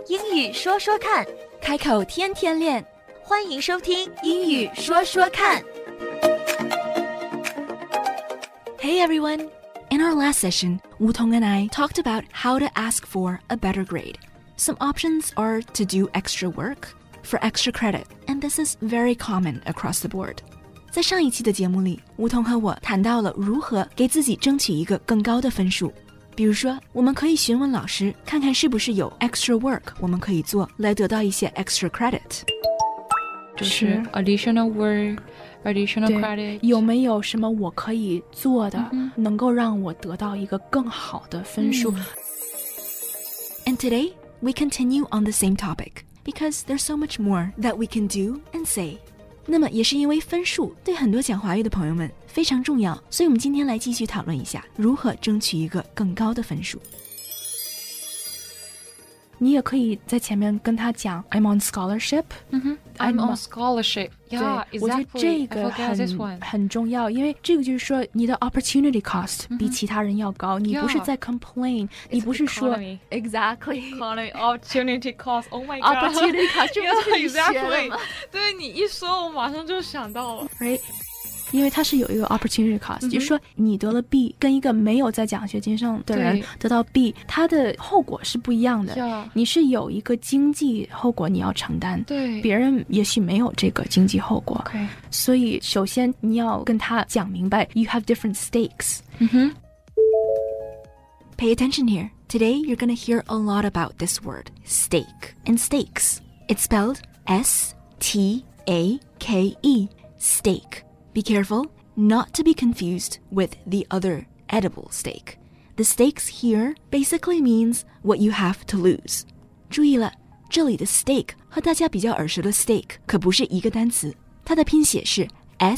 英语说说看， 开口天天练， 欢迎收听英语说说看。 Hey everyone! In our last session, Wutong and I talked about how to ask for a better grade. Some options are to do extra work for extra credit, and this is very common across the board. 在上一期的节目里，吴桐和我谈到了如何给自己争取一个更高的分数。比如说，我们可以询问老师，看看是不是有 extra work 我们可以做来得到一些 extra credit。 就是 additional work。Additional credit 有没有什么我可以做的，能够让我得到一个更好的分数 And today, we continue on the same topic, because there's so much more that we can do and say. 那么也是因为分数对很多讲华语的朋友们非常重要，所以我们今天来继续讨论一下如何争取一个更高的分数。 你也可以在前面跟他讲 I'm on scholarship. I'm on scholarship. Yeah, 对，我觉得这个很重要，因为这个就是说你的 opportunity cost 比其他人要高，你不是在 complain， 你不是说 exactly economy opportunity cost. Oh my god, opportunity cost 这不是学了吗？ 对，你一说，我马上就想到了。 Right.因为它是有一个 opportunity cost，就是说你得了 B 跟一个没有在奖学金上的人得到 B， 它的后果是不一样的。你是有一个经济后果你要承担， 对， 别人也许没有这个经济后果。所以首先你要跟他讲明白 you have different stakes。 Pay attention here. Today you're going to hear a lot about this word, stake and stakes. It's spelled S-T-A-K-E, stake.Be careful not to be confused with the other edible steak. The stakes here basically means what you have to lose. 注意了，这里的 steak 和大家比较耳熟的 steak 可不是一个单词，它的拼写是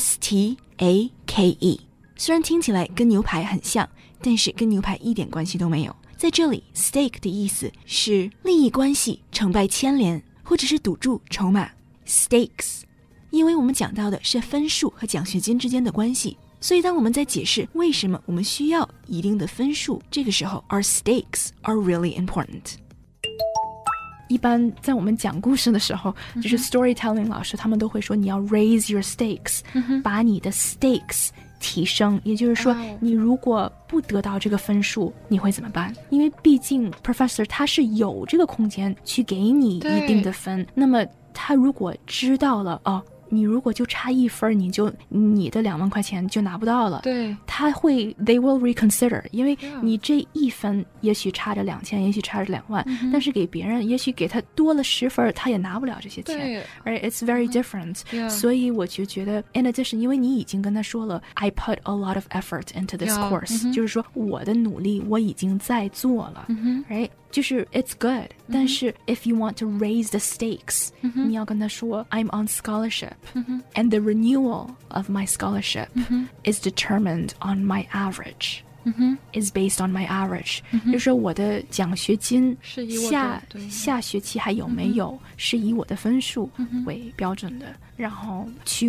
S-T-A-K-E。虽然听起来跟牛排很像，但是跟牛排一点关系都没有。在这里 stake 的意思是利益关系、成败牵连，或者是赌注、筹码。Stakes因为我们讲到的是分数和奖学金之间的关系，所以当我们在解释为什么我们需要一定的分数，这个时候 our stakes are really important。 一般在我们讲故事的时候，就是 storytelling 老师他们都会说你要 raise your stakes，把你的 stakes 提升，也就是说你如果不得到这个分数你会怎么办？因为毕竟 professor 他是有这个空间去给你一定的分，那么他如果知道了你如果就差1分，你的2万块钱就拿不到了。 对， 他会 they will reconsider， 因为你这1分也许差着2000，也许差着2万，但是给别人也许给他多了10分，他也拿不了这些钱。Right, it's very different。所以我就觉得 in addition， 因为你已经跟他说了 I put a lot of effort into this course， 就是说我的努力我已经在做了。Right， 就是 it's good， 但是 if you want to raise the stakes， 你要跟他说 I'm on scholarship。And the renewal of my scholarship is determined on my average. Is based on my average. 就是说我的奖学金下学期还有没有是以我的分数为标准的。然后 to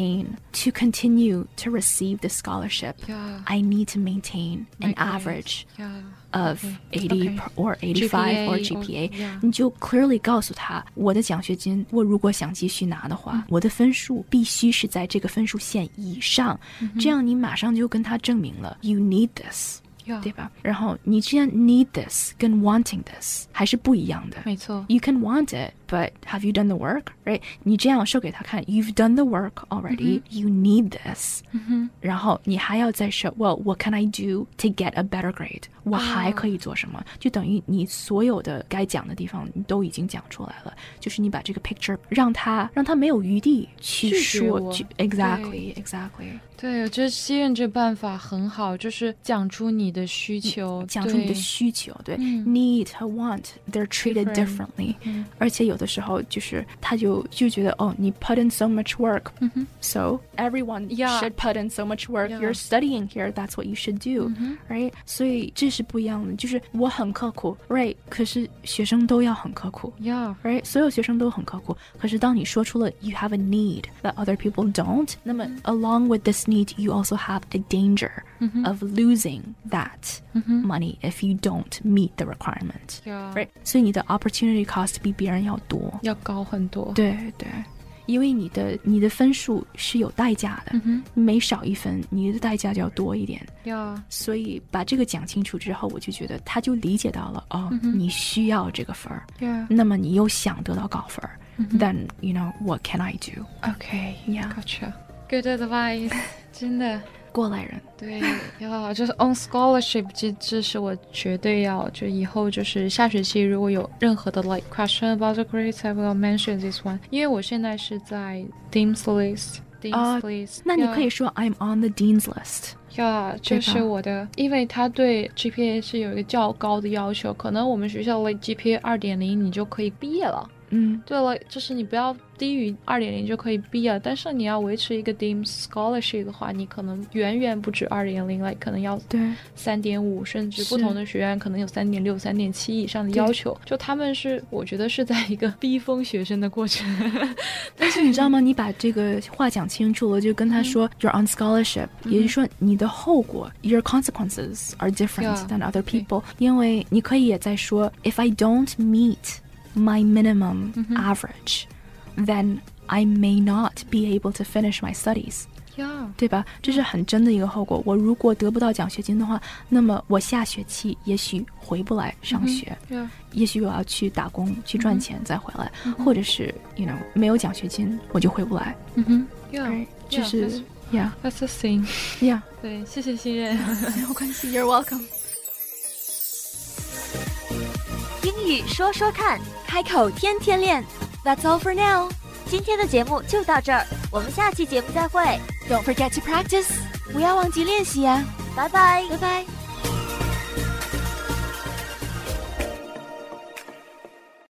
continue to receive the scholarship, I need to maintain an average of 80 or 85 or GPA. 你就 clearly 告诉他，我的奖学金，我如果想继续拿的话，我的分数必须是在这个分数线以上，这样你马上就跟他证明了 you need this。对吧？然后你之前 need this 跟 wanting this 还是不一样的。 没错。 You can want it, but have you done the work? Right? 你这样 show 给他看 You've done the work already. You need this. 然后你还要再 show Well, what can I do to get a better grade? 我还可以做什么？就等于你所有的该讲的地方你都已经讲出来了，就是你把这个 picture 让他没有余地去说Exactly. 对，我觉得西任这办法很好，就是讲出你的需求， 讲出你的需求。对，need 和 want they're treated differently，而且有的时候就是他就觉得你 put in so much work、so everyone should put in so much work、you're studying here, that's what you should do、right? 所以这是不一样的，就是我很刻苦 right 可是学生都要很刻苦 right 所有学生都很刻苦，可是当你说出了 you have a need that other people don't， 那么 along with this need you also have a danger of losing that money if you don't meet the requirement right 所以你的 opportunity cost 比别人要多， 要高很多， 对对，因为你的分数是有代价的，每少一分你的代价就要多一点，所以把这个讲清楚之后，我就觉得他就理解到了你需要这个分那么你又想得到高分then you know what can I do? Okay, gotcha. Good advice. 真的过来人， 对，就是 on scholarship， 这是我绝对要，就以后就是下学期如果有任何的 like question about the grades, I will mention this one。因为我现在是在 Dean's list， 那你可以说 I'm on the Dean's list。 就是我的，因为他对 GPA 是有一个较高的要求，可能我们学校 like GPA 2.0你就可以毕业了。对了，就是你不要低于 2.0 就可以毕业，但是你要维持一个 Dean's Scholarship 的话，你可能远远不止 2.0 可能要 3.5 甚至不同的学院可能有 3.6 3.7 以上的要求，就他们是我觉得是在一个逼疯学生的过程但是你知道吗，你把这个话讲清楚了，就跟他说 You're on scholarship，也就是说你的后果 Your consequences are different than other people，因为你可以也在说 If I don't meet my minimum average, then I may not be able to finish my studies. 对吧？这是很真的一个后果。我如果得不到奖学金的话，那么我下学期也许回不来上学，也许我要去打工去赚钱再回来，或者是 you know 没有奖学金我就回不来。这是 that's the thing。 对，谢谢信任。 没有关系 You're welcome。 英语说说看， 开口天天练。That's all for now。 今天的节目就到这儿，我们下期节目再会。 Don't forget to practice。不要忘记练习呀。 拜拜， 拜拜。